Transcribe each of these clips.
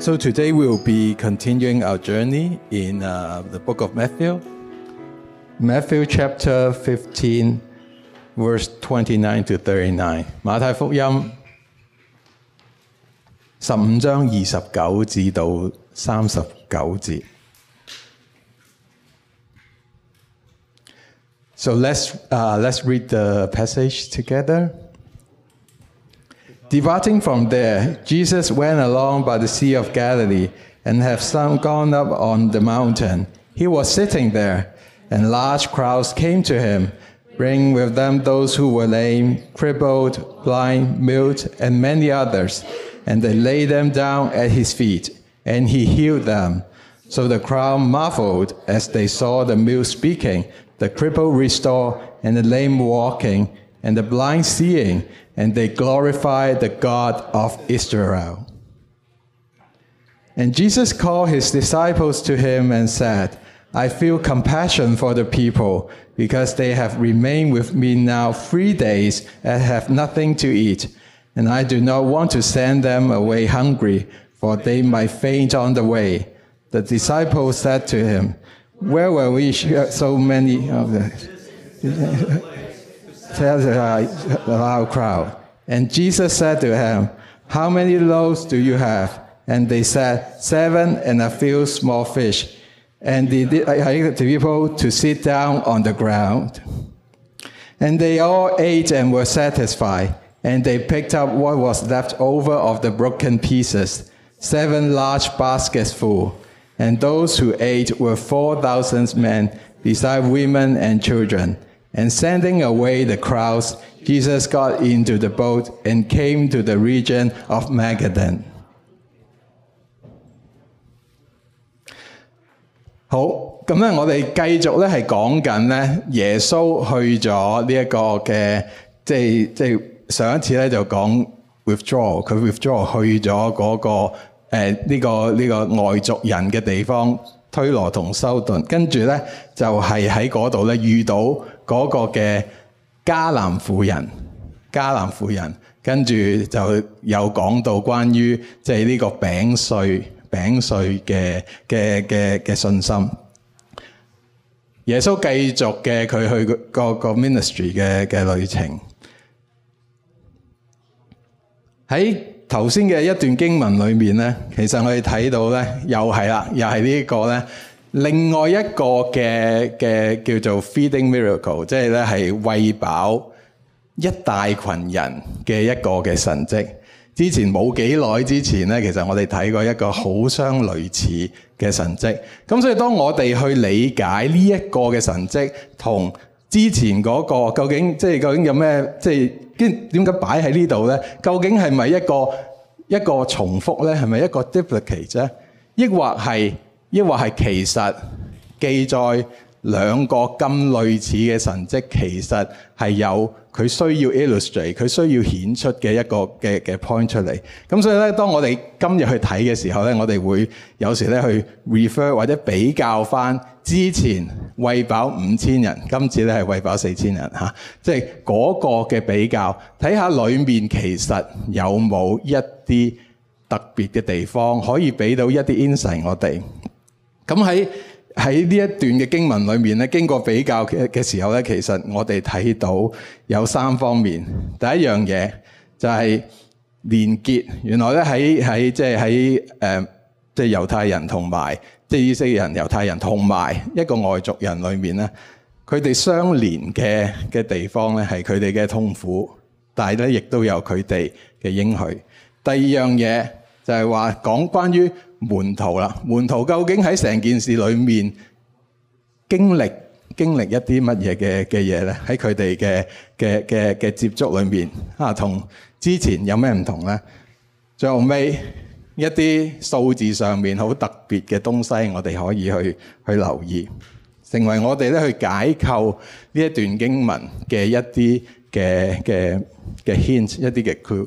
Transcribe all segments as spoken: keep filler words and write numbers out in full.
So today we will be continuing our journey in uh, the book of Matthew. Matthew chapter fifteen, verse twenty-nine to thirty-nine. 馬太福音十五章二十九至到三十九節。So let's, uh, let's read the passage together. Departing from there, Jesus went along by the Sea of Galilee and had some gone up on the mountain. He was sitting there, and large crowds came to him, bringing with them those who were lame, crippled, blind, mute, and many others, and they laid them down at his feet, and he healed them. So the crowd marveled as they saw the mute speaking, the crippled restored, and the lame walking, and the blind seeing, and they glorified the God of Israel. And Jesus called his disciples to him and said, I feel compassion for the people, because they have remained with me now three days and have nothing to eat. And I do not want to send them away hungry, for they might faint on the way. The disciples said to him, Where will we share so many of the... Tells a loud crowd. And Jesus said to him, How many loaves do you have? And they said, Seven and a few small fish. And they did the people to sit down on the ground. And they all ate and were satisfied. And they picked up what was left over of the broken pieces, seven large baskets full. And those who ate were four thousand men, besides women and children. And sending away the crowds, Jesus got into the boat and came to the region of Magadan. 好，咁咧，我哋繼續咧係講緊咧，耶穌去咗呢一個嘅，即係即係上一次咧就講 withdraw， 佢 withdraw 去咗嗰、那個誒呢、呃這個呢、這個外族人嘅地方，推羅同修頓，跟住咧就係喺嗰度咧遇到嗰個嘅迦南婦人，迦南婦人，跟住就有講到關於即係呢個餅碎餅碎嘅嘅嘅嘅信心。耶穌繼續嘅佢去個個 ministry 嘅嘅旅程。喺頭先嘅一段經文裏面咧，其實我哋睇到咧，又係啦，又係呢個咧。另外一個嘅嘅叫做 feeding miracle， 即係咧係餵飽一大群人嘅一個嘅神蹟。之前冇幾耐之前咧，其實我哋睇過一個好相類似嘅神蹟。咁所以當我哋去理解呢一個嘅神蹟同之前嗰個究竟即係究竟有咩即係點解擺喺呢度咧？究竟係咪一個一個重複咧？係咪一個 duplicate 咧？抑或係？抑或係其實記載兩個咁類似嘅神蹟，其實係有佢需要 illustrate， 佢需要顯出嘅一個嘅嘅 point 出嚟。咁所以咧，當我哋今日去睇嘅時候咧，我哋會有時咧去 refer 或者比較翻之前餵飽五千人，今次咧係餵飽四千人嚇，即係嗰個嘅比較，睇下裡面其實有冇一啲特別嘅地方可以俾到一啲 insight 我哋。咁喺喺呢一段嘅經文裏面咧，經過比較嘅嘅時候咧，其實我哋睇到有三方面。第一樣嘢就係連結，原來咧喺喺即係喺誒即係猶太人同埋即係以色列人、猶太人同埋一個外族人裏面咧，佢哋相連嘅嘅地方咧係佢哋嘅痛苦，但係咧亦都有佢哋嘅應許。第二樣嘢就係話講關於門徒啦，門徒究竟喺成件事裏面經歷經歷一啲乜嘢嘅嘅嘢咧？喺佢哋嘅嘅嘅嘅接觸裏面啊，同之前有咩唔同咧？最後尾一啲數字上面好特別嘅東西，我哋可以去去留意，成為我哋咧去解構呢一段經文嘅一啲嘅嘅嘅 hint， 一啲嘅 clue。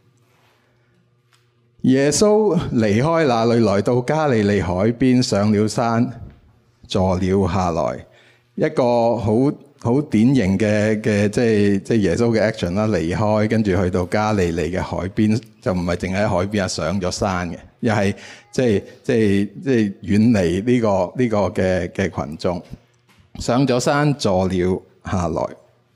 耶穌離開那裏，來到加利利海邊，上了山，坐了下來。一個好好典型嘅嘅即係即係耶穌嘅 action 啦，離開跟住去到加利利嘅海邊，就唔係淨係喺海邊啊，上咗山嘅，又係即係即係即係遠離呢個呢個嘅嘅羣眾，上咗山坐了下來。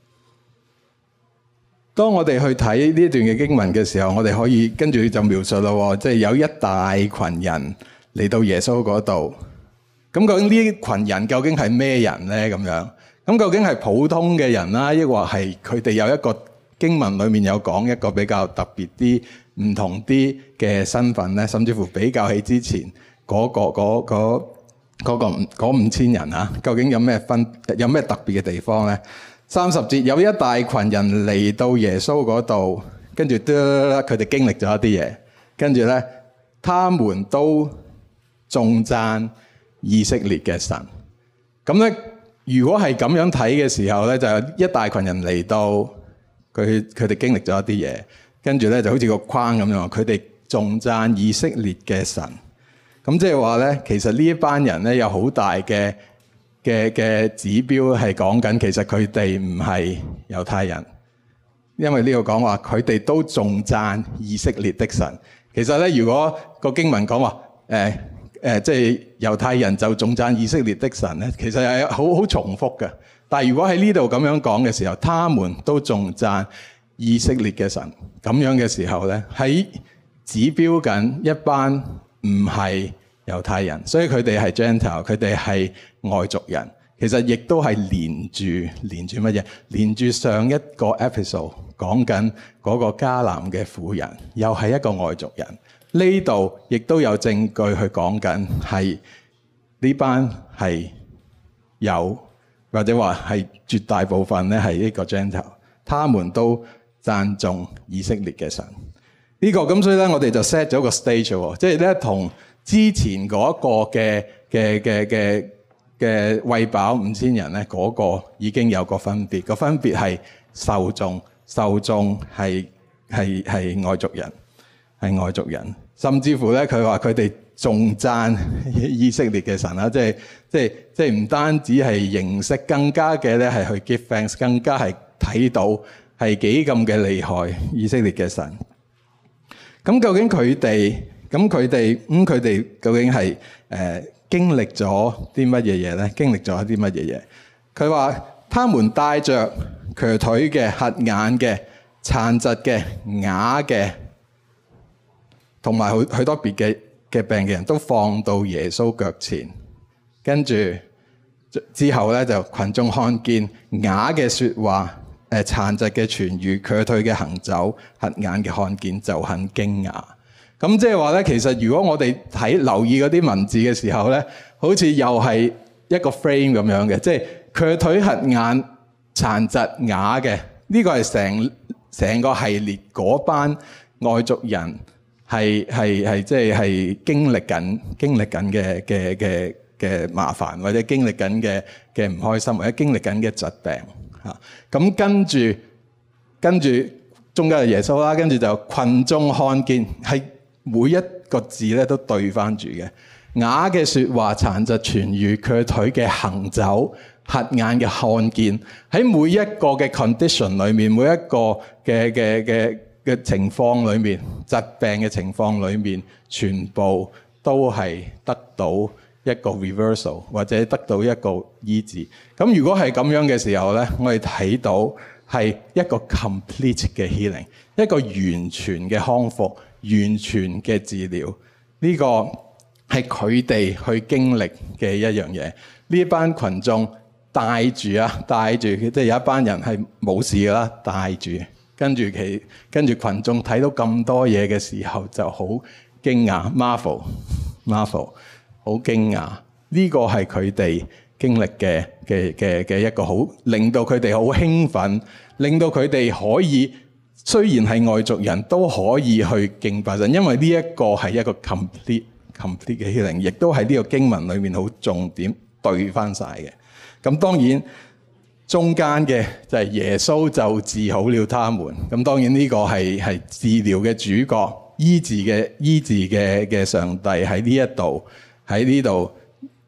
當我哋去睇呢段嘅經文嘅時候，我哋可以跟住就描述咯，即係有一大群人嚟到耶穌嗰度。咁究竟呢群人究竟係咩人咧？咁樣咁究竟係普通嘅人啦，抑或係佢哋有一個經文裡面有講一個比較特別啲、唔同啲嘅身份咧？甚至乎比較起之前嗰個嗰嗰嗰個嗰五千人啊，究竟有咩分有咩特別嘅地方咧？三十節有一大群人嚟到耶穌嗰度，跟住佢哋經歷咗一啲嘢，跟住咧，他們都頌讚以色列嘅神。咁咧，如果係咁樣睇嘅時候咧，就有一大群人嚟到，佢佢哋經歷咗一啲嘢，跟住咧就好似個框咁樣，佢哋頌讚以色列嘅神。咁即係話咧，其實呢一班人咧有好大嘅嘅嘅指標係講緊，其實佢哋唔係猶太人，因為呢度講話佢哋都頌讚以色列的神。其實咧，如果個經文講話誒誒，即係猶太人就頌讚以色列的神咧，其實係好好重複嘅。但係如果喺呢度咁樣講嘅時候，他們都頌讚以色列嘅神，咁樣嘅時候咧，喺指標緊一班唔係猶太人，所以佢哋係 Gentile， 佢哋係外族人。其實亦都係連住連住乜嘢？連住上一個 episode 講緊嗰個迦南嘅婦人，又係一個外族人。呢度亦都有證據去講緊係呢班係有，或者話係絕大部分咧係呢個 Gentile， 他們都讚頌以色列嘅神。呢、這個咁所以咧，我哋就 set 咗個 stage 喎，即係咧同之前嗰個嘅嘅嘅嘅嘅餵飽五千人咧，嗰、那個已經有個分別。個分別係受眾，受眾係係係外族人，係外族人。甚至乎咧，佢話佢哋頌讚以色列嘅神啦，即係即係即係唔單止係認識，更加嘅咧係去 give thanks，更加係睇到係幾咁嘅厲害以色列嘅神。咁究竟佢哋？咁佢哋咁佢哋究竟係誒、呃、經歷咗啲乜嘢嘢咧？經歷咗一啲乜嘢嘢？佢話：他們帶着瘸腿嘅、瞎眼嘅、殘疾嘅、啞嘅，同埋好許多別嘅嘅病嘅人都放到耶穌腳前，跟住之後咧就群眾看見啞嘅説話、誒殘疾嘅痊癒、瘸腿嘅行走、瞎眼嘅看見，就很驚訝。咁即係話咧，其實如果我哋睇留意嗰啲文字嘅時候咧，好似又係一個 frame 咁樣嘅，即係瘸腿、瞎眼、殘疾、啞嘅，呢個係成成個系列嗰班外族人係係係即係係經歷緊經歷緊嘅嘅嘅嘅麻煩，或者經歷緊嘅嘅唔開心，或者經歷緊嘅疾病嚇。咁跟住跟住中間係耶穌啦，跟住就群眾看見係。每一個字咧都對翻住嘅，啞嘅説話、殘疾痊癒、瘸腿嘅行走、瞎眼嘅看見，喺每一個嘅 condition 裏面，每一個嘅嘅嘅嘅情況裏面，疾病嘅情況裏面，全部都係得到一個 reversal 或者得到一個醫治。咁如果係咁樣嘅時候咧，我哋睇到係一個 complete 嘅 healing， 一個完全嘅康復。完全嘅治療，呢、這個係佢哋去經歷嘅一樣嘢。呢一班群眾帶住啊，帶住，即係有一班人係冇事㗎啦，帶住，跟住其跟住群眾睇到咁多嘢嘅時候，就好驚訝 ，marvel marvel， 好驚訝。呢、這個係佢哋經歷嘅嘅嘅嘅一個好，令到佢哋好興奮，令到佢哋可以。雖然係外族人都可以去敬拜神，因為呢一個係一個 complete complete 嘅 healing， 亦都係呢個經文裏面好重點對翻晒嘅。咁當然中間嘅就係耶穌就治好了他們。咁當然呢個係係治療嘅主角，醫治嘅醫治嘅嘅上帝喺呢一度喺呢度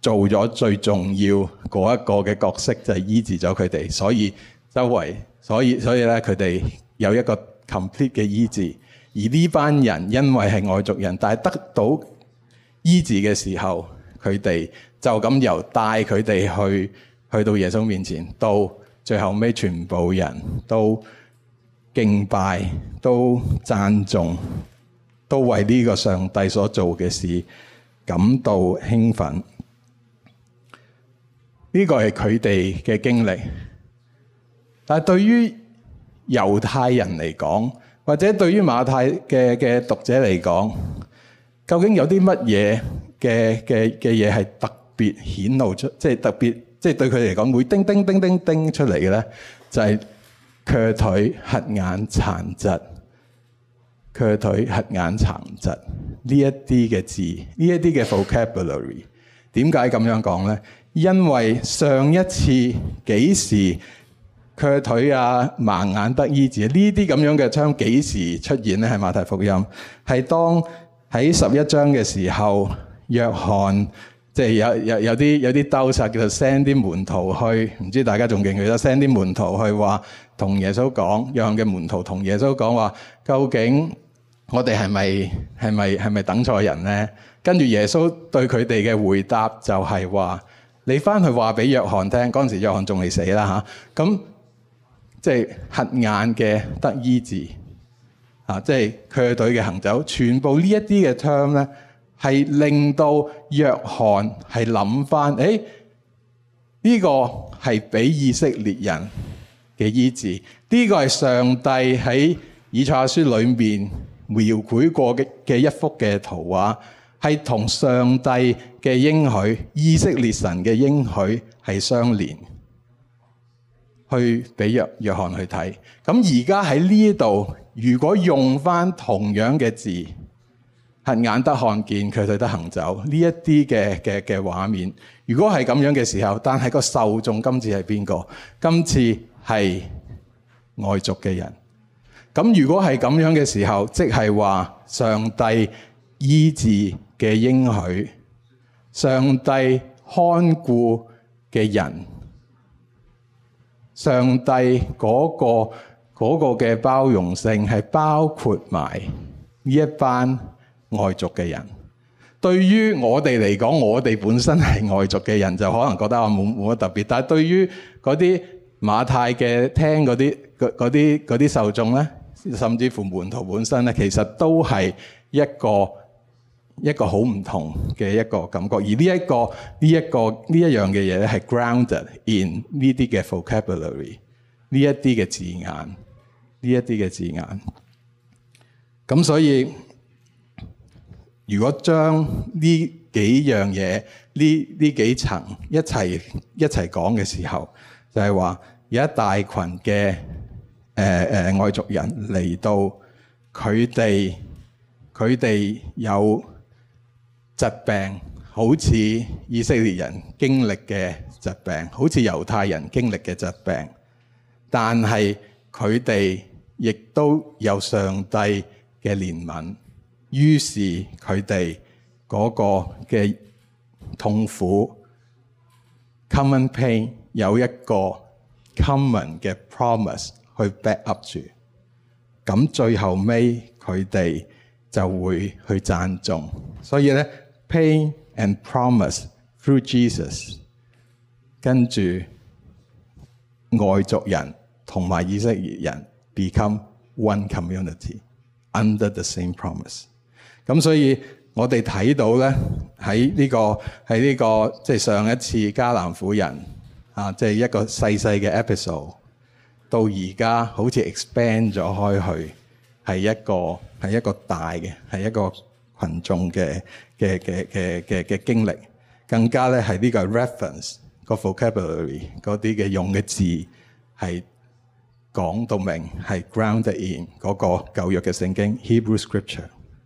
做咗最重要嗰一個嘅角色，就係醫治咗佢哋，所以周圍，所以所以咧佢哋有一個 complete 嘅醫治。而呢班人因為係外族人，但係得到醫治嘅時候，佢哋就咁由帶佢哋去去到耶穌面前，到最後尾全部人都敬拜，都讚頌，都為呢個上帝所做嘅事感到興奮。呢個係佢哋嘅經歷，但係對於猶太人嚟講，或者對於馬太嘅嘅讀者嚟講，究竟有啲乜嘢嘅嘅嘅嘢係特別顯露出，即係特別，即係對佢哋嚟講會叮叮叮叮叮出嚟嘅咧？就係瘸腿、瞎眼、殘疾、瘸腿、瞎眼、殘疾呢一啲嘅字，呢一啲嘅 vocabulary， 點解咁樣講咧？因為上一次幾時瘸腿啊、盲眼得醫治呢啲咁樣嘅槍幾時出現咧？係馬太福音，係當喺十一章嘅時候，約翰即係有有有啲有啲兜殺，叫做 send 啲門徒去，唔知大家仲記唔記得 send 啲門徒去話同耶穌講，約翰嘅門徒同耶穌講話，究竟我哋係咪係咪係咪等錯人咧？跟住耶穌對佢哋嘅回答就係話，你翻去話俾約翰聽，嗰陣時約翰仲未死啦嚇，咁即係瞎眼嘅得醫治，啊，即係瘸腿嘅行走，全部呢一啲嘅 term 咧，係令到約翰係諗翻，誒呢個係俾以色列人嘅醫治，呢個係上帝喺以賽亞書裏面描繪過嘅嘅一幅嘅圖畫，係同上帝嘅應許、以色列神嘅應許係相連，去俾約約翰去睇。咁而家喺呢度，如果用翻同樣嘅字，瞎眼得看見，瘸腿得行走，呢一啲嘅嘅嘅畫面，如果係咁樣嘅時候，但係個受眾今次係邊個？今次係外族嘅人。咁如果係咁樣嘅時候，即係話上帝醫治嘅應許，上帝看顧嘅人，上帝嗰個嗰個嘅包容性係包括埋呢一班外族嘅人。對於我哋嚟講，我哋本身係外族嘅人，就可能覺得我冇冇乜特別。但係對於嗰啲馬太嘅聽嗰啲嗰啲嗰啲受眾咧，甚至乎門徒本身咧，其實都係一個一個好唔同嘅一個感覺。而呢一個呢一個呢一樣嘅嘢咧，係 grounded in 呢啲嘅 vocabulary， 呢一啲嘅字眼，呢一啲嘅字眼。咁所以，如果將呢幾樣嘢，呢呢幾層一齊一齊講嘅時候，就係話有一大群嘅誒誒外族人嚟到，佢哋佢哋有疾病，好似以色列人經歷嘅疾病，好似猶太人經歷嘅疾病，但係佢哋亦都有上帝嘅憐憫，於是佢哋嗰個嘅痛苦 common pain 有一個 common 嘅 promise 去 back up 住，咁最後尾佢哋就會去讚頌。所以咧 pain and promise through Jesus， 跟住外族人同埋以色列人 become one community under the same promise。咁所以我哋睇到咧喺呢個喺呢個即係上一次迦南婦人啊，即係一個細細嘅 episode， 到而家好似 expand 咗開去，係一個係一個大嘅係一個群眾嘅嘅嘅嘅嘅嘅經歷，更加咧係呢個 reference 個 vocabulary 嗰啲嘅用嘅字係講到明係 grounded in 嗰個舊約嘅聖經 Hebrew Scripture。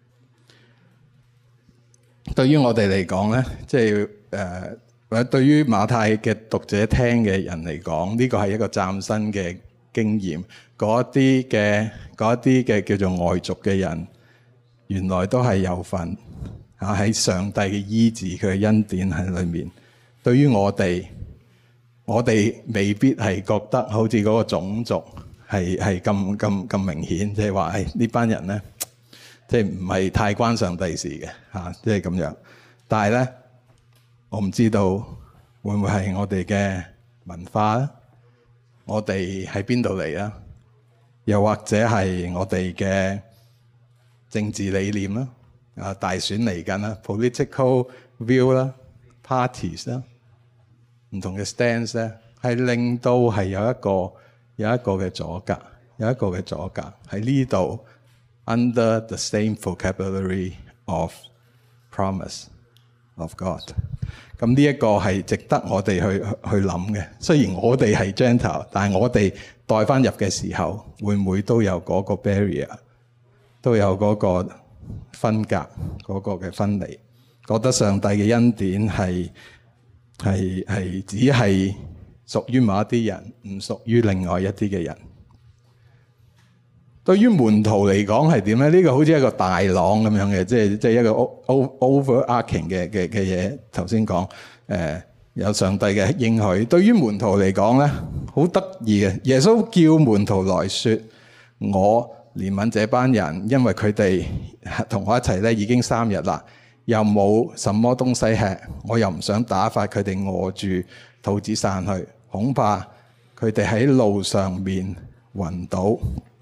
對於我哋嚟講咧，即係誒或者對於馬太嘅讀者聽嘅人嚟講，呢個係一個嶄新嘅經驗。嗰啲嘅嗰啲嘅叫做外族嘅人，原來都係有份啊喺上帝嘅醫治佢嘅恩典喺裏面。 對於我哋，我哋未必係覺得好似嗰個種族係係咁咁咁明顯，即係話誒呢班人咧，即係唔係太關上帝事嘅嚇，即係咁樣。但係咧，我唔知道會唔會係我哋嘅文化咧？我哋喺邊度嚟啊？又或者係我哋嘅政治理念啦？啊，大選嚟緊啦 ，political view 啦 ，parties 啦，唔同嘅 stance 咧，係令到係有一個有一個嘅阻隔，有一個嘅阻隔喺呢度 under the same vocabulary of promise of God。咁呢一個係值得我哋去去諗嘅。雖然我哋係 Gentile， 但係我哋帶翻入嘅時候，會唔會都有嗰個 barrier， 都有嗰個分隔，嗰個嘅分離，覺得上帝嘅恩典係係係只係屬於某一啲人，唔屬於另外一啲嘅人。對於門徒嚟講係點咧？呢個好似一個大浪咁樣嘅，即係即係一個 overarching 嘅嘅嘅嘢。頭先講誒有上帝嘅應許。對於門徒嚟講咧，好得意嘅。耶穌叫門徒來說：我憐憫這班人，因為佢哋同我一齊咧已經三日啦，又冇什麼東西吃，我又唔想打發佢哋餓住肚子散去，恐怕佢哋喺路上面暈倒。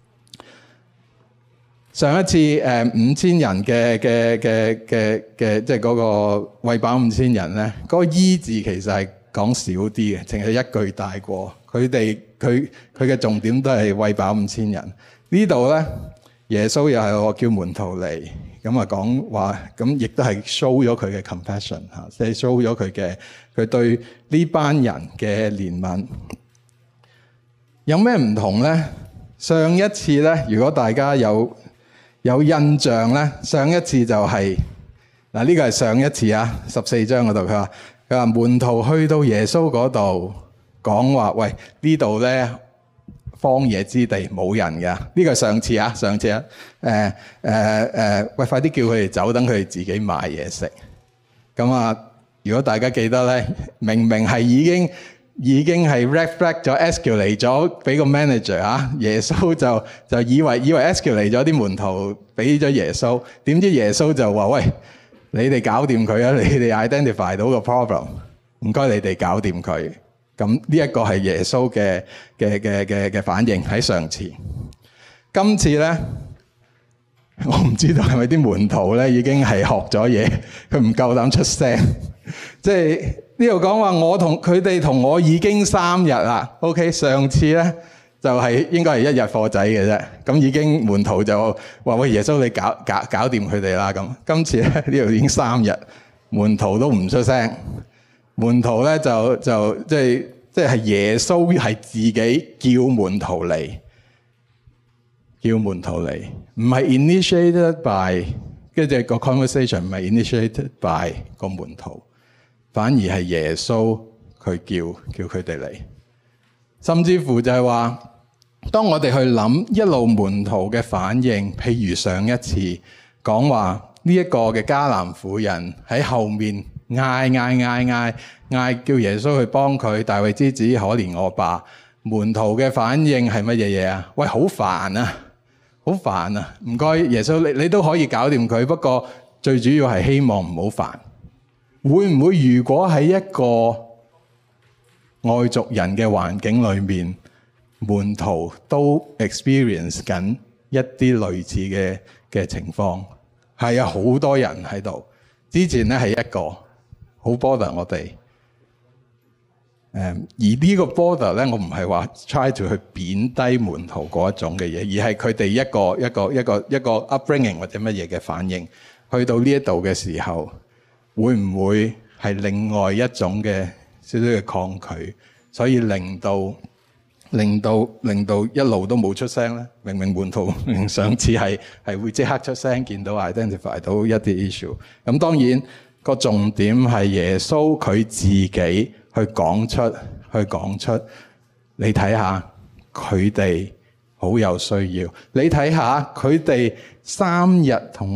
上一次誒五千人嘅嘅嘅嘅嘅，即係嗰個餵飽五千人咧，嗰個醫治其實係講少啲嘅，淨係一句帶過。佢哋佢佢嘅重點都係餵飽五千人。呢度咧，耶穌又係我叫門徒嚟，咁啊講話，咁亦都係 show 咗佢嘅 compassion 嚇，即係 show 咗佢嘅佢對呢班人嘅憐憫。有咩唔同咧？上一次咧，如果大家有有印象咧，上一次就係嗱，呢個係上一次啊，十四章嗰度佢話佢話門徒去到耶穌嗰度講話，喂，呢度咧荒野之地冇人㗎，呢個係上次啊，上次啊，誒誒誒，喂，快啲叫佢哋走，等佢哋自己買嘢食。咁啊，如果大家記得咧，明明係已經。已經係 reflect 咗 escalate 咗俾個 manager 啊，耶穌就就以為以為 escalate 咗啲門徒俾咗耶穌，點知耶穌就話：喂，你哋搞掂佢啊！你哋 identify 到個 problem， 唔該你哋搞掂佢。咁呢一個係耶穌嘅嘅嘅嘅嘅反應喺上次。今次咧，我唔知道係咪啲門徒咧已經係學咗嘢，佢唔夠膽出聲，即係。呢度講話我同佢哋同我已經三日啦 ，OK？ 上次咧就係、是、應該係一日貨仔嘅啫，咁已經門徒就話：喂，耶穌你搞搞搞掂佢哋啦咁。今次咧呢度已經三日，門徒都唔出聲，門徒咧就就即係即係耶穌係自己叫門徒嚟，叫門徒嚟，唔係 initiated by， 跟住個 conversation 唔係 initiated by 個門徒。反而係耶穌佢叫叫佢哋嚟，甚至乎就係話，當我哋去諗一路門徒嘅反應，譬如上一次講話呢一個嘅迦南婦人喺後面嗌嗌嗌嗌嗌叫耶穌去幫佢，大衛之子可憐我吧。門徒嘅反應係乜嘢嘢啊？喂，好煩啊，好煩啊！唔該耶穌，你你都可以搞掂佢，不過最主要係希望唔好煩。會唔會如果喺一個外族人嘅環境裏面，門徒都 experience 緊一啲類似嘅嘅情況？係啊，好多人喺度。之前咧係一個好 bother 我哋。誒，而呢個 bother 咧，我唔係話 try to 去貶低門徒嗰一種嘅嘢，而係佢哋一個一個一個一個 upbringing 或者乜嘢嘅反應，去到呢一度嘅時候。會唔會係另外一種嘅少少嘅抗拒，所以令到令到令到一路都冇出聲咧？明明門徒上次係係會即刻出聲，見到 identify 到一啲 issue。咁當然個重點係耶穌佢自己去講出去講出，你睇下佢哋好有需要。你睇下佢哋三日同我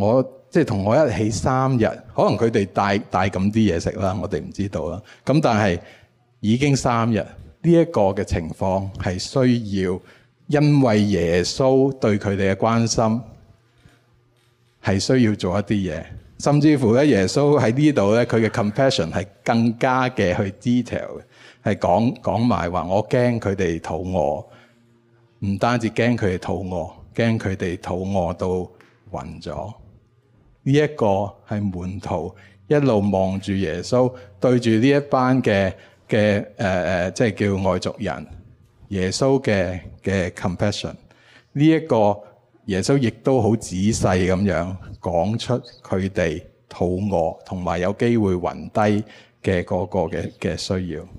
即係同我一起三日，可能佢哋帶帶咁啲嘢食啦，我哋唔知道啦。咁但係已經三日，呢一個嘅情況係需要，因為耶穌對佢哋嘅關心係需要做一啲嘢，甚至乎咧耶穌喺呢度咧佢嘅 compassion 係更加嘅去 detail 嘅，係講講埋話我驚佢哋肚餓，唔單止驚佢哋肚餓，驚佢哋肚餓到暈咗。呢一個係門徒一路望住耶穌，對住呢一班嘅嘅誒誒，即係叫外族人，耶穌嘅嘅 compassion。呢一個耶穌亦都好仔細咁樣講出佢哋肚餓同埋有機會暈低嘅嗰個嘅嘅需要。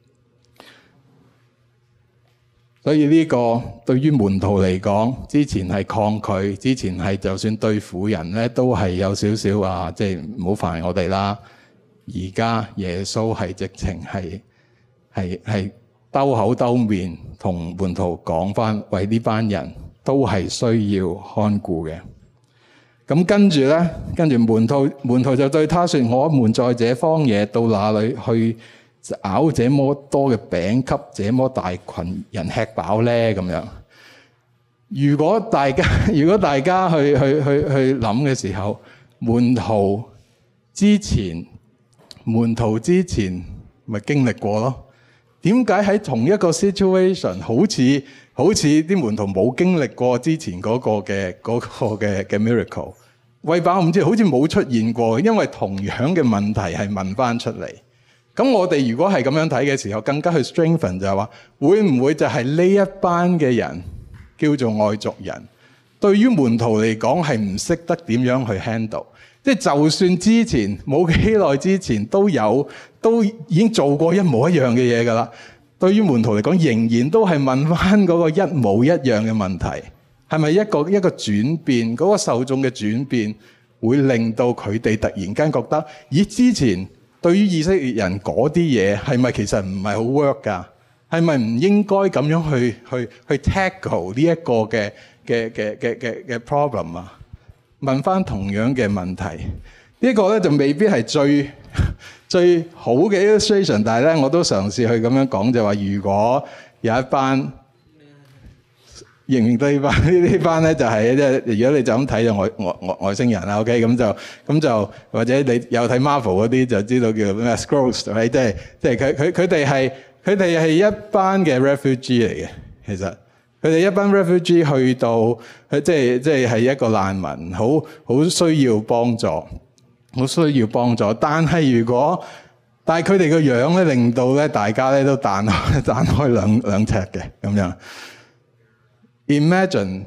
所以呢個對於門徒嚟講，之前係抗拒，之前係就算對婦人咧都係有少少話，即係唔好煩我哋啦。而家耶穌係直情係係係兜口兜面同門徒講翻，為呢班人都係需要看顧嘅。咁跟住咧，跟住門徒門徒就對他說：我們在這荒野到哪裏去咬這麼多嘅餅給這麼大群人吃飽咧？咁樣，如果大家如果大家去去去去諗嘅時候，門徒之前門徒之前咪經歷過咯？點解喺同一個 situation 好似好似啲門徒冇經歷過之前嗰個嘅嗰個嘅嘅 miracle？ 餵飽唔知好似冇出現過，因為同樣嘅問題係問翻出嚟。咁我哋如果係咁樣睇嘅時候，更加去 strengthen 就係話，會唔會就係呢一班嘅人叫做外族人，對於門徒嚟講係唔識得點樣去 handle？ 即係就算之前冇幾耐之前都有都已經做過一模一樣嘅嘢㗎啦，對於門徒嚟講仍然都係問翻嗰個一模一樣嘅問題，係咪一個一個轉變？嗰個受眾嘅轉變會令到佢哋突然間覺得，咦，之前對於以色列人嗰啲嘢係咪其實唔係好 work 㗎？係咪唔應該咁樣去去去 tackle 呢一個嘅嘅嘅嘅嘅嘅 problem 啊？問翻同樣嘅問題，呢個咧就未必係最最好嘅 illustration， 但係咧我都嘗試去咁樣講，就話如果有一班認唔認得呢班呢班咧，就係即係如果你就咁睇就外外外外星人啦 ，OK， 咁就咁就或者你有睇 Marvel 嗰啲就知道叫咩 Skrulls， 即係即係佢佢佢哋係佢哋係一班嘅 refugee 嚟嘅。其實佢哋一班 refugee 去到即係即係係一個難民，好好需要幫助，好需要幫助。但係如果但係佢哋個樣咧，令到咧大家咧都彈開彈開兩兩尺嘅咁樣。Imagine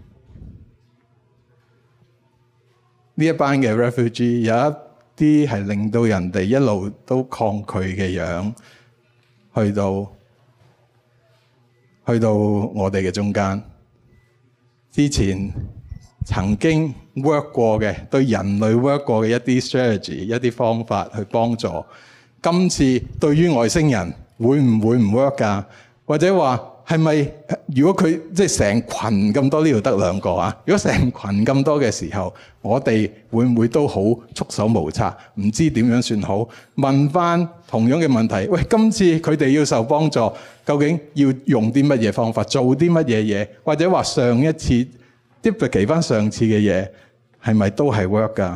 呢一班嘅 refugee 有一啲係令到人哋一路都抗拒嘅樣，去到去到我哋嘅中間。之前曾經 work 過嘅，對人類 work 過嘅一啲 strategy、一啲方法去幫助，今次對於外星人會唔會唔 work 㗎？或者話係咪？如果佢即係成群咁多，呢度得兩個啊！如果成群咁多嘅時候，我哋會唔會都好束手無策，唔知點樣算好？問翻同樣嘅問題，喂，今次佢哋要受幫助，究竟要用啲乜嘢方法，做啲乜嘢嘢？或者話上一次 duplicate 翻上次嘅嘢，係咪都係 work 㗎？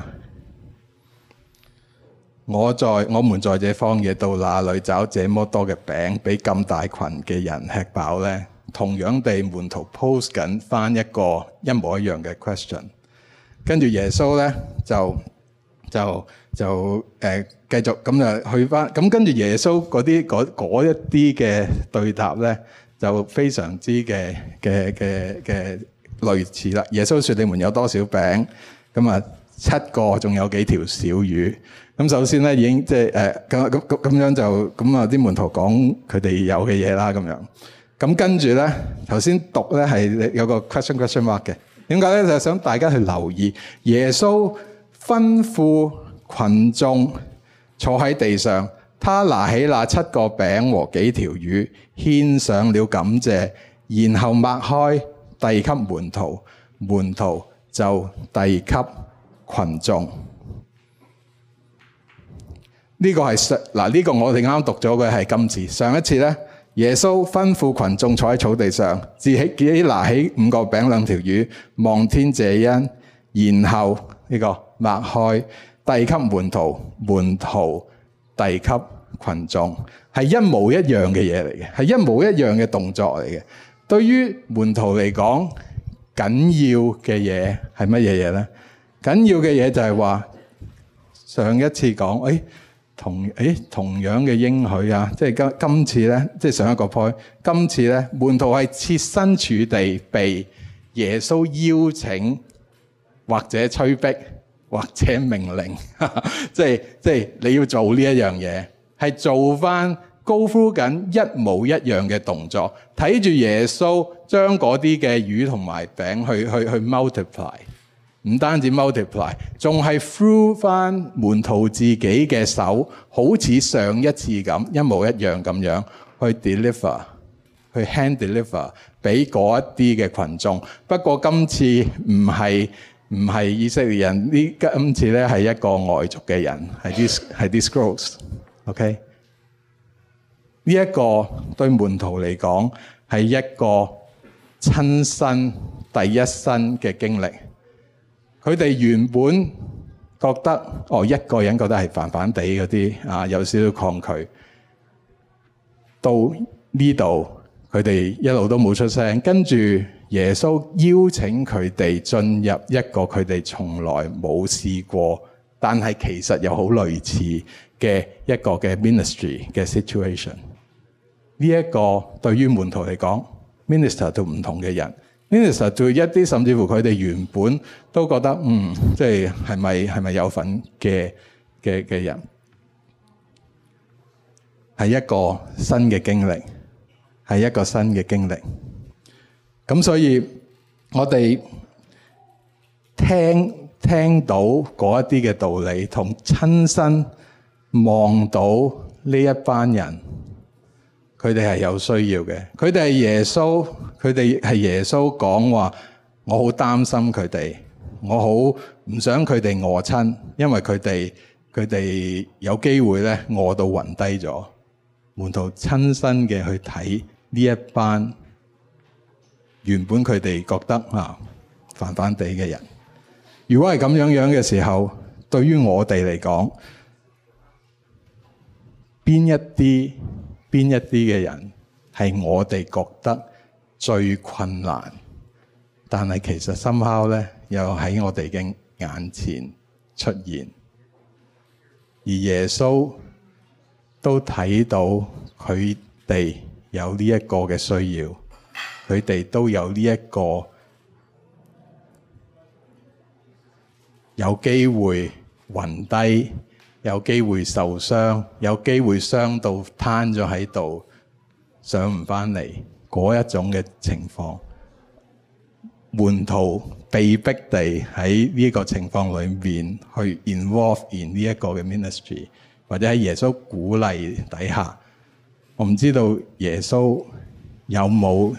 我在我們在這荒野到哪裏找這麼多嘅餅俾咁大群嘅人吃飽呢？同樣地，門徒 pose 緊翻一個一模一樣嘅 question， 跟住耶穌咧就就就誒、呃、繼續咁就去翻，咁跟住耶穌嗰啲嗰一啲嘅對答咧就非常之嘅嘅嘅嘅類似啦。耶穌說：你們有多少餅？咁啊七個，仲有幾條小魚。咁首先咧已經即係誒咁咁咁咁樣就咁啊啲門徒講佢哋有嘅嘢啦咁樣。咁跟住咧，頭先讀咧係有個 question question mark 嘅。點解咧？就係想大家去留意耶穌吩咐群眾坐喺地上，他拿起那七個餅和幾條魚，獻上了感謝，然後擘開遞給門徒，門徒就遞給群眾。呢個係上嗱，呢個我哋啱啱讀咗嘅係今次。上一次咧，耶穌吩咐群眾坐喺草地上，自己拿起五個餅兩條魚，望天謝恩，然後呢個擘開，遞給門徒，門徒遞給群眾，係一模一樣嘅嘢嚟嘅，係一模一樣嘅動作嚟嘅。對於門徒嚟講，緊要嘅嘢係乜嘢嘢咧？緊要嘅嘢就係話，上一次講，誒同誒同樣嘅應許啊，即係今今次咧，即係上一個 point，今次咧，門徒係設身處地被耶穌邀請，或者催逼，或者命令，即係即係你要做呢一樣嘢，係做翻go through緊一模一樣嘅動作，睇住耶穌將嗰啲嘅魚同埋餅去去去 multiply， 唔單止 multiply， 仲係 through 翻門徒自己嘅手，好似上一次咁一模一樣咁樣去 deliver， 去 hand deliver 俾嗰一啲嘅群眾。不過今次唔係唔係以色列人，呢今次咧係一個外族嘅人，係啲係啲 scrolls，OK。呢一個對門徒嚟講係一個親身第一身嘅經歷。佢哋原本覺得哦，一個人覺得係煩煩地嗰啲啊，有少少抗拒。到呢度佢哋一路都冇出聲，跟住耶穌邀請佢哋進入一個佢哋從來冇試過，但係其實又好類似嘅一個嘅 ministry 嘅 situation。呢一個對於門徒嚟講 ，minister 到唔同嘅人 ，minister 對一啲甚至乎佢哋原本都覺得嗯，即係係咪係咪有份嘅嘅嘅人，係一個新嘅經歷，係一個新嘅經歷。咁所以我哋聽聽到嗰一啲嘅道理，同親身望到呢一班人。佢哋係有需要嘅，佢哋係耶穌，佢哋係耶穌講話，我好擔心佢哋，我好唔想佢哋餓親，因為佢哋佢哋有機會咧餓到暈低咗。門徒親身嘅去睇呢一班原本佢哋覺得啊煩煩地嘅人，如果係咁樣樣嘅時候，對於我哋嚟講，邊一啲？邊一啲嘅人係我哋覺得最困難，但係其實somehow咧又喺我哋嘅眼前出現，而耶穌都睇到佢哋有呢一個嘅需要，佢哋都有呢一個有機會暈低，有機會受傷，有機會傷到攤咗喺度，上唔翻嚟嗰一種嘅情況，門徒被逼地喺呢個情況裏面去 involve in 呢一個嘅 ministry， 或者喺耶穌鼓勵底下，我唔知道耶穌有冇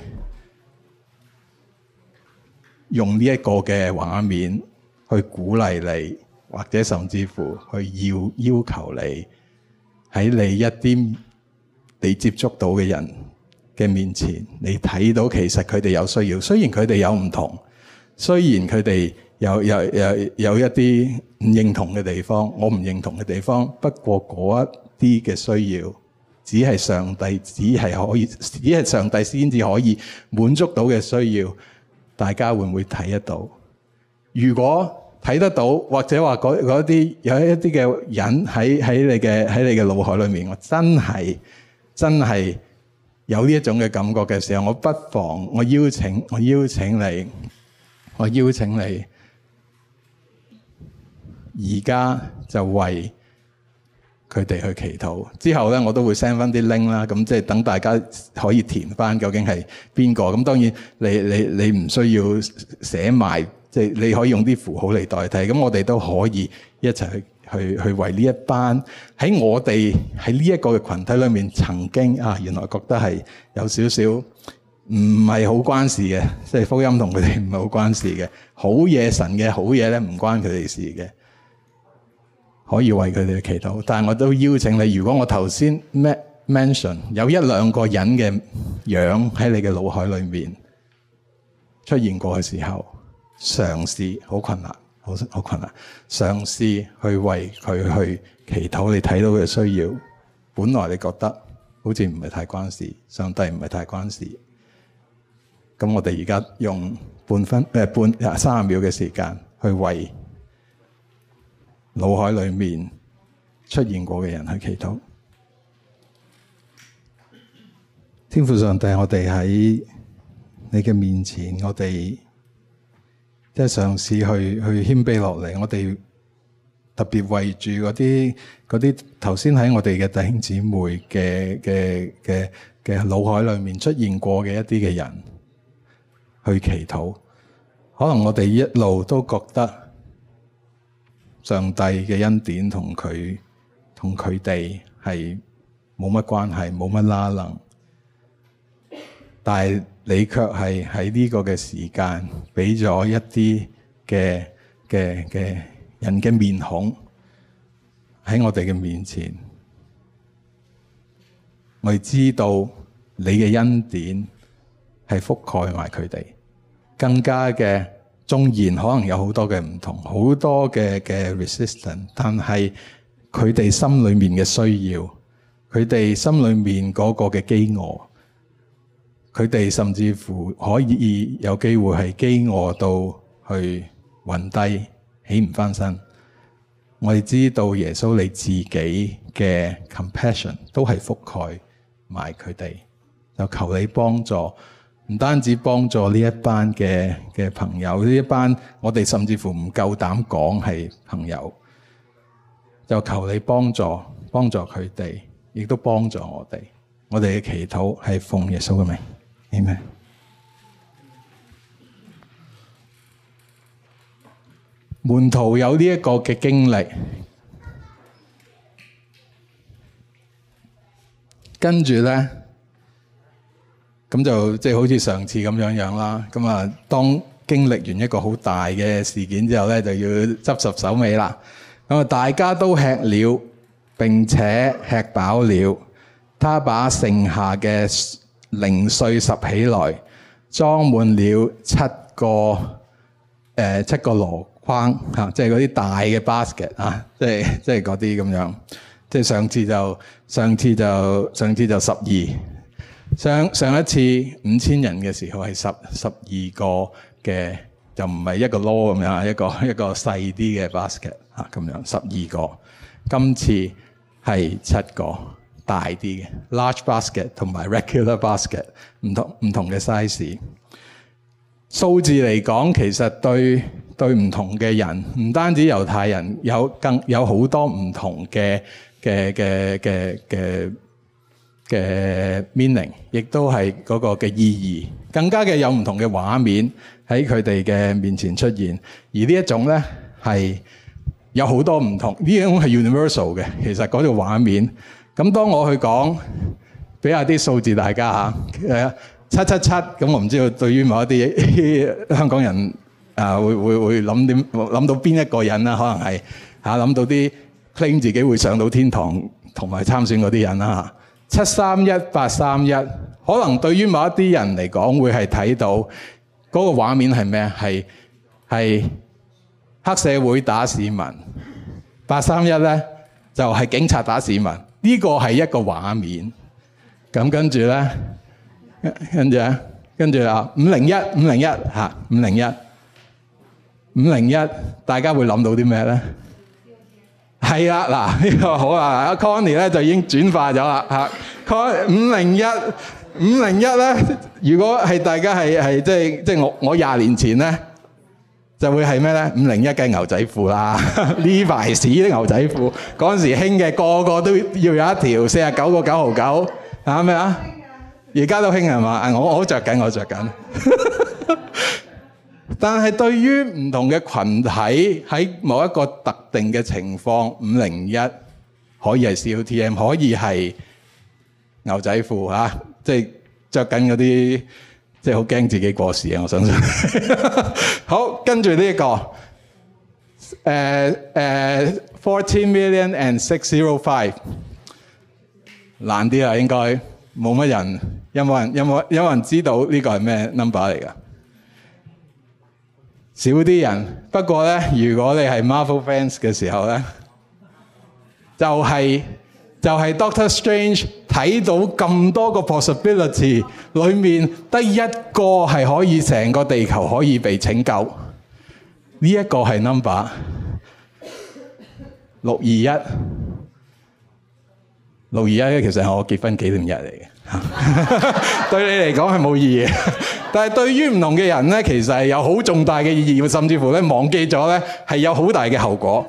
用呢一個嘅畫面去鼓勵你，或者甚至乎去要要求你喺你一啲你接觸到嘅人嘅面前，你睇到其實佢哋有需要，雖然佢哋有唔同，雖然佢哋有有有有一啲唔認同嘅地方，我唔認同嘅地方，不過嗰一啲嘅需要，只係上帝只係可以，只係上帝先至可以滿足到嘅需要，大家會唔會睇得到？如果睇得到，或者話嗰嗰啲有一啲嘅人喺喺你嘅喺你嘅腦海裏面，我真係真係有呢一種嘅感覺嘅時候，我不妨我邀請我邀請你，我邀請你而家就為佢哋去祈禱。之後咧，我都會 send 翻啲 link 啦，咁即係等大家可以填翻究竟係邊個。咁當然你你你唔需要寫埋。即係你可以用啲符號嚟代替，咁我哋都可以一齊去去去為呢一班喺我哋喺呢一個嘅群體裏面曾經啊，原來覺得係有少少唔係好關事嘅，即係福音同佢哋唔係好關事嘅。好嘢，神嘅好嘢咧，唔關佢哋事嘅，可以為佢哋祈禱。但係我都邀請你，如果我頭先 mention 有一兩個人嘅樣喺你嘅腦海裏面出現過嘅時候，嘗試好困難，好好困難，嘗試去為佢去祈禱。你睇到佢嘅需要，本來你覺得好似唔係太關事，上帝唔係太關事。咁我哋而家用半分誒半三十秒嘅時間去為腦海裏面出現過嘅人去祈禱。天父上帝，我哋喺你嘅面前，我哋即係嘗試去去謙卑落嚟。我哋特別為住嗰啲嗰啲頭先喺我哋嘅弟兄姊妹嘅嘅嘅嘅腦海裏面出現過嘅一啲嘅人去祈禱。可能我哋一路都覺得上帝嘅恩典同佢同佢哋係冇乜關係，冇乜拉楞，但係你卻係喺呢個嘅時間俾咗一啲嘅嘅嘅人嘅面孔喺我哋嘅面前。我哋知道你嘅恩典係覆蓋埋佢哋，更加嘅縱然可能有好多嘅唔同，好多嘅嘅 resistance， 但係佢哋心裏面嘅需要，佢哋心裏面嗰個嘅飢餓，佢哋甚至乎可以有機會係飢餓到去暈低，起唔翻身。我哋知道耶穌你自己嘅 compassion 都係覆蓋埋佢哋，就求你幫助。唔單止幫助呢一班嘅嘅朋友，呢一班我哋甚至乎唔夠膽講係朋友，就求你幫助幫助佢哋，亦都幫助我哋。我哋嘅祈禱係奉耶穌嘅名，阿們。門徒有呢一個嘅經歷，跟住咧。咁就即係好似上次咁樣樣啦。咁啊，當經歷完一個好大嘅事件之後咧，就要執拾手尾啦。咁啊，大家都吃了，並且吃飽了。他把剩下嘅零碎拾起來，裝滿了七個誒、呃、七個籮筐嚇，即係嗰啲大嘅 basket 啊，即係即係嗰啲咁樣。即係上次就上次就上次就十二。上上一次五千人嘅時候係十十二個嘅，就唔係一個籮咁樣，一個一個細啲嘅 basket 嚇咁樣，十二個。今次係七個大啲嘅 large basket 同埋 regular basket， 唔同唔同嘅 size。數字嚟講，其實對對唔同嘅人，唔單止猶太人，有更有好多唔同嘅嘅嘅嘅嘅。嘅 meaning， 亦都係嗰個嘅意義，更加嘅有唔同嘅畫面喺佢哋嘅面前出現。而呢一種咧係有好多唔同，呢種係 universal 嘅。其實嗰個畫面，咁當我去講，俾下啲數字大家嚇，七七七，咁我唔知道對於某一啲香港人啊，會會會諗點諗到邊一個人啦？可能係嚇諗到啲 claim 自己會上到天堂同埋參選嗰啲人啦嚇。七三一八三一，可能對於某一啲人嚟講，會係睇到嗰個畫面係咩？係係黑社會打市民，八三一咧就係警察打市民。呢個係一個畫面。咁跟住咧，跟住咧，跟住啊，五零一五零一嚇，五零一五零一，大家會諗到啲咩咧？係啦，嗱呢個好啊！阿 Connie 咧就已經轉化咗啦嚇。Con 五零一五零一咧，如果係大家係係即係即係我我廿年前咧，就會係咩咧？五零一嘅牛仔褲啦，Levi's 啲牛仔褲嗰陣時興嘅，個個都要有一條四十九個九毫九，係咩啊？而家都興係嘛？我我好著緊，我著緊。但係對於唔同嘅群體喺某一個特定嘅情況，五零一可以係 C O T M， 可以係牛仔褲嚇，即係著緊嗰啲即係好驚自己過時啊！我相信。好，跟住呢一個，誒、uh, 誒、uh, fourteen million and six zero five， 難啲啦，應該冇乜人，有冇人有冇有冇人知道呢個係咩 number 嚟㗎？少啲人，不過咧，如果你係 Marvel fans 嘅時候咧，就係、是、就係、是、Doctor Strange 睇到咁多個 possibility 裏面得一個係可以成個地球可以被拯救，呢、這、一個係 number 六二一。六二一咧，其實係我結婚紀念日嚟嘅，對你嚟講係冇意義，但係對於唔同嘅人咧，其實係有好重大嘅意義，甚至乎咧忘記咗咧係有好大嘅後果。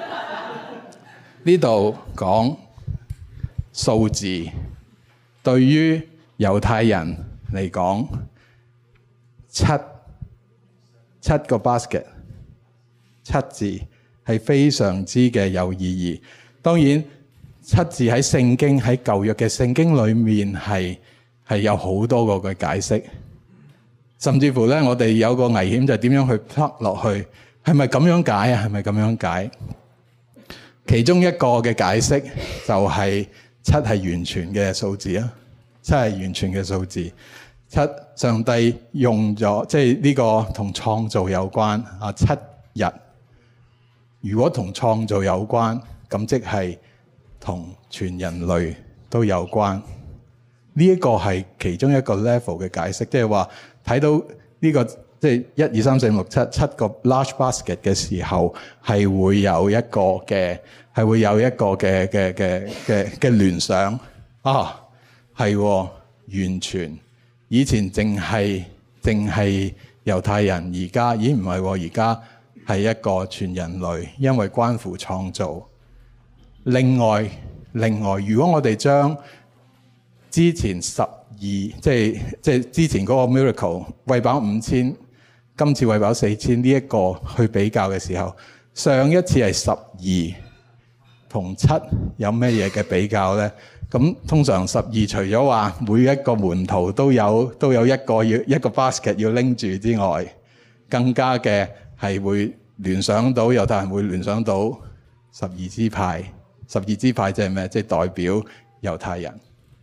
呢度講數字，對於猶太人嚟講，七七個 basket， 七字係非常之嘅有意義。當然。七字喺聖經喺舊約嘅聖經裏面係係有好多個嘅解釋，甚至乎咧我哋有個危險就係點樣去 plug 落去，係咪咁樣解啊？係咪咁樣解？其中一個嘅解釋就係七係完全嘅數字啊，七係完全嘅數字。七上帝用咗，即係呢個同創造有關啊。七日如果同創造有關，咁即係同全人類都有關，呢一個係其中一個 level 嘅解釋，即係話睇到呢個即係一二三四五六七七個 large basket 嘅時候，係會有一個嘅係會有一個嘅嘅嘅嘅嘅聯想啊，係完全以前淨係淨係猶太人，而家咦唔係喎，而家係一個全人類，因為關乎創造。另外，另外，如果我哋將之前十二，即係即係之前嗰個 miracle 餵飽五千，今次餵飽四千呢一個去比較嘅時候，上一次係十二同七有咩嘢嘅比較咧？咁通常十二除咗話每一個門徒都有都有一個要一個 basket 要拎住之外，更加嘅係會聯想到猶太人會聯想到十二支派。十二支派即係咩？即係代表猶太人。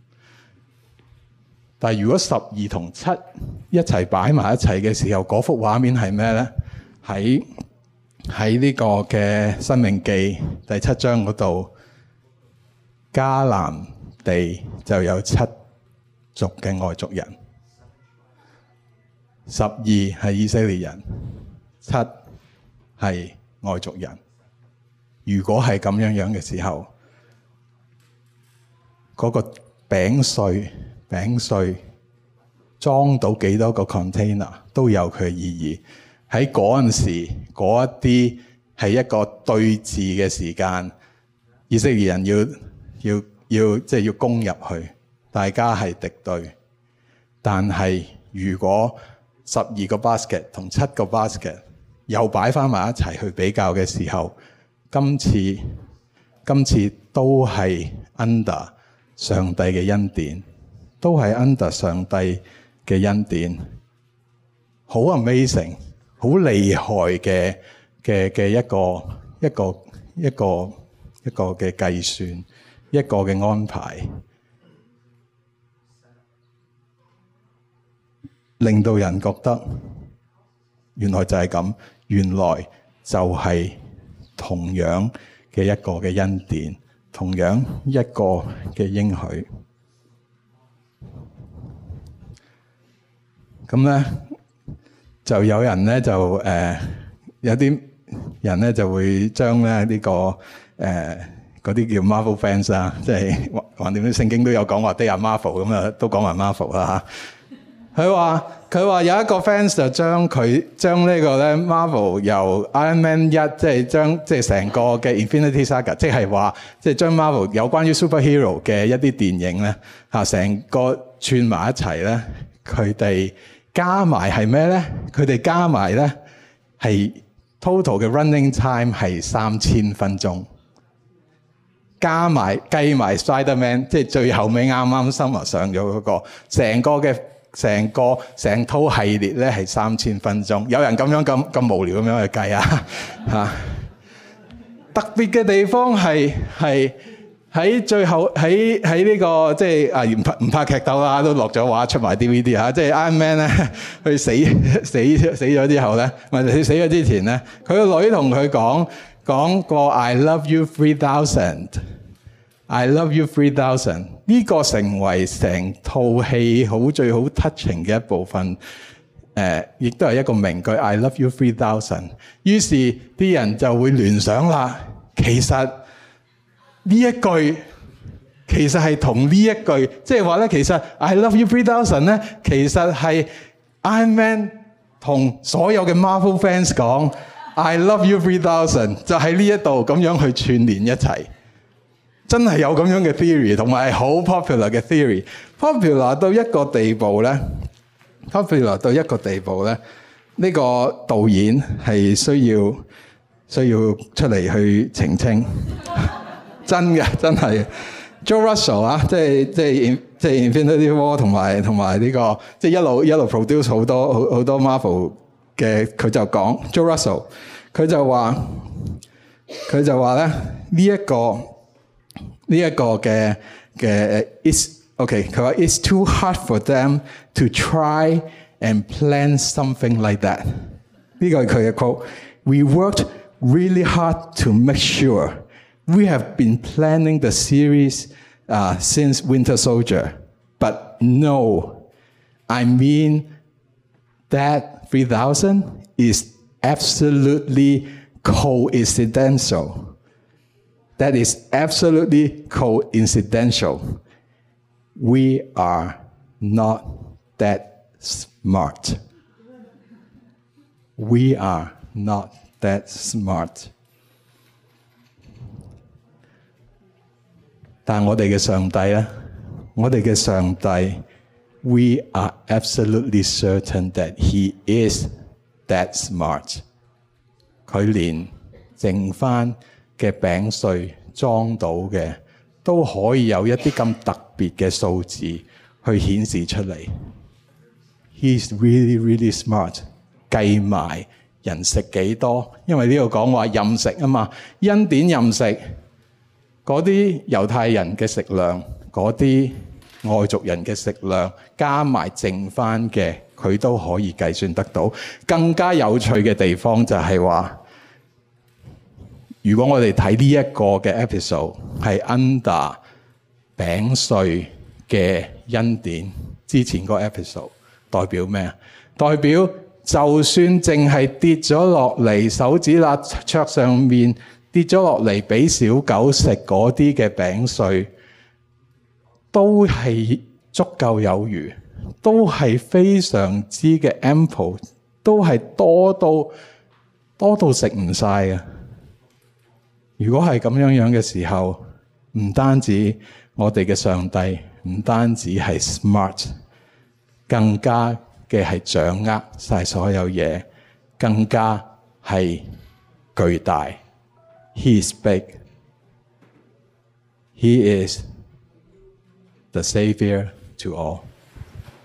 但係如果十二同七一齊擺埋一齊嘅時候，嗰幅畫面係咩咧？喺喺呢個嘅申命記第七章嗰度，迦南地就有七族嘅外族人，十二係以色列人，七係外族人。如果係咁樣樣嘅時候，嗰、那個餅碎餅碎裝到幾多個 container 都有佢嘅意義。喺嗰陣時，嗰一啲係一個對峙嘅時間，以色列人要要要即係要攻入去，大家係敵對。但係如果十二個 basket 同七個 basket 又擺翻埋一齊去比較嘅時候，今次今次都係 under 上帝嘅恩典，都係 under 上帝嘅恩典，好 amazing， 好厲害嘅嘅嘅一個一個一個一個嘅計算，一個嘅安排，令到人覺得原來就係咁，原來就係同樣嘅一個嘅恩典，同樣一個嘅應許。咁咧就有人咧就誒、呃、有啲人咧就會將咧呢、這個誒嗰啲叫 Marvel fans 啊，即係橫掂啲聖經都有講話 They are Marvel 咁啊，都講埋 Marvel 啦嚇。佢話佢話有一個 fans 就將佢將呢個咧 Marvel 由 Iron Man 一即係將即係成個嘅 Infinity Saga， 即係話即係將 Marvel 有關於 superhero 嘅一啲電影咧嚇成個串埋一齊咧，佢哋加埋係咩咧？佢哋加埋咧係 total 嘅 running time 係三千分鐘，加埋計埋 Spider-Man， 即係最後尾啱啱 summer 上咗嗰個成個嘅。 成個成套系列咧係三千分鐘。有人咁樣咁咁無聊咁樣去計啊嚇！特別嘅地方係係喺最後喺喺呢個即係啊唔拍唔拍劇鬥啦，都落咗畫出埋 D V D 嚇。即係 Iron Man 咧，佢死死死咗之後咧，唔係佢死咗之前咧，佢個女同佢講講過 I love you three thousand。I love you three thousand 呢個成為成套戲好最好 touching 嘅一部分，誒，亦都係一個名句 I love you three thousand。於是啲人就會聯想啦，其實呢一句其實係同呢一句，即係話咧，其實 I love you three thousand 咧，其實係 Iron Man 同所有嘅 Marvel fans 講 I love you three thousand， 就喺呢一度咁樣去串聯一齊。真係有咁樣嘅 theory， 同埋係好 popular 嘅 theory。popular 到一個地步咧 ，popular 到一個地步咧，呢個導演係需要需要出嚟去澄清。真嘅，真係 Joe Russell 啊，即係即係即係 Infinity War 同埋同埋呢個即係一路一路 produce 好多好好多 Marvel 嘅，佢就講 Joe Russell， 佢就話佢就話咧呢一個。呢一個嘅嘅 is OK， 佢話 it's too hard for them to try and plan something like that。呢個係佢嘅 quote。We worked really hard to make sure we have been planning the series uh, since Winter Soldier, but no, I mean that three thousand is absolutely coincidental.That is absolutely coincidental. We are not that smart. We are not that smart. 但係我哋嘅上帝咧，我哋嘅上帝 we are absolutely certain that he is that smart. 佢連剩返嘅餅碎裝到嘅都可以有一啲咁特別嘅數字去顯示出嚟。He's really really smart， 計埋人食幾多，因為呢度講話任食啊嘛，恩典任食嗰啲猶太人嘅食量，嗰啲外族人嘅食量，加埋剩翻嘅，佢都可以計算得到。更加有趣嘅地方就係話，如果我哋睇呢一個嘅 episode 係 under 餅碎嘅恩典之前個 episode， 代表咩啊？代表就算淨係跌咗落嚟手指罅桌上面跌咗落嚟俾小狗食嗰啲嘅餅碎，都係足夠有餘，都係非常之嘅 ample， 都係多到多到食唔晒嘅。如果係咁樣樣嘅時候，唔單止我哋嘅上帝，唔單止係 smart， 更加嘅係掌握晒所有嘢，更加係巨大。He is big. He is the Savior to all.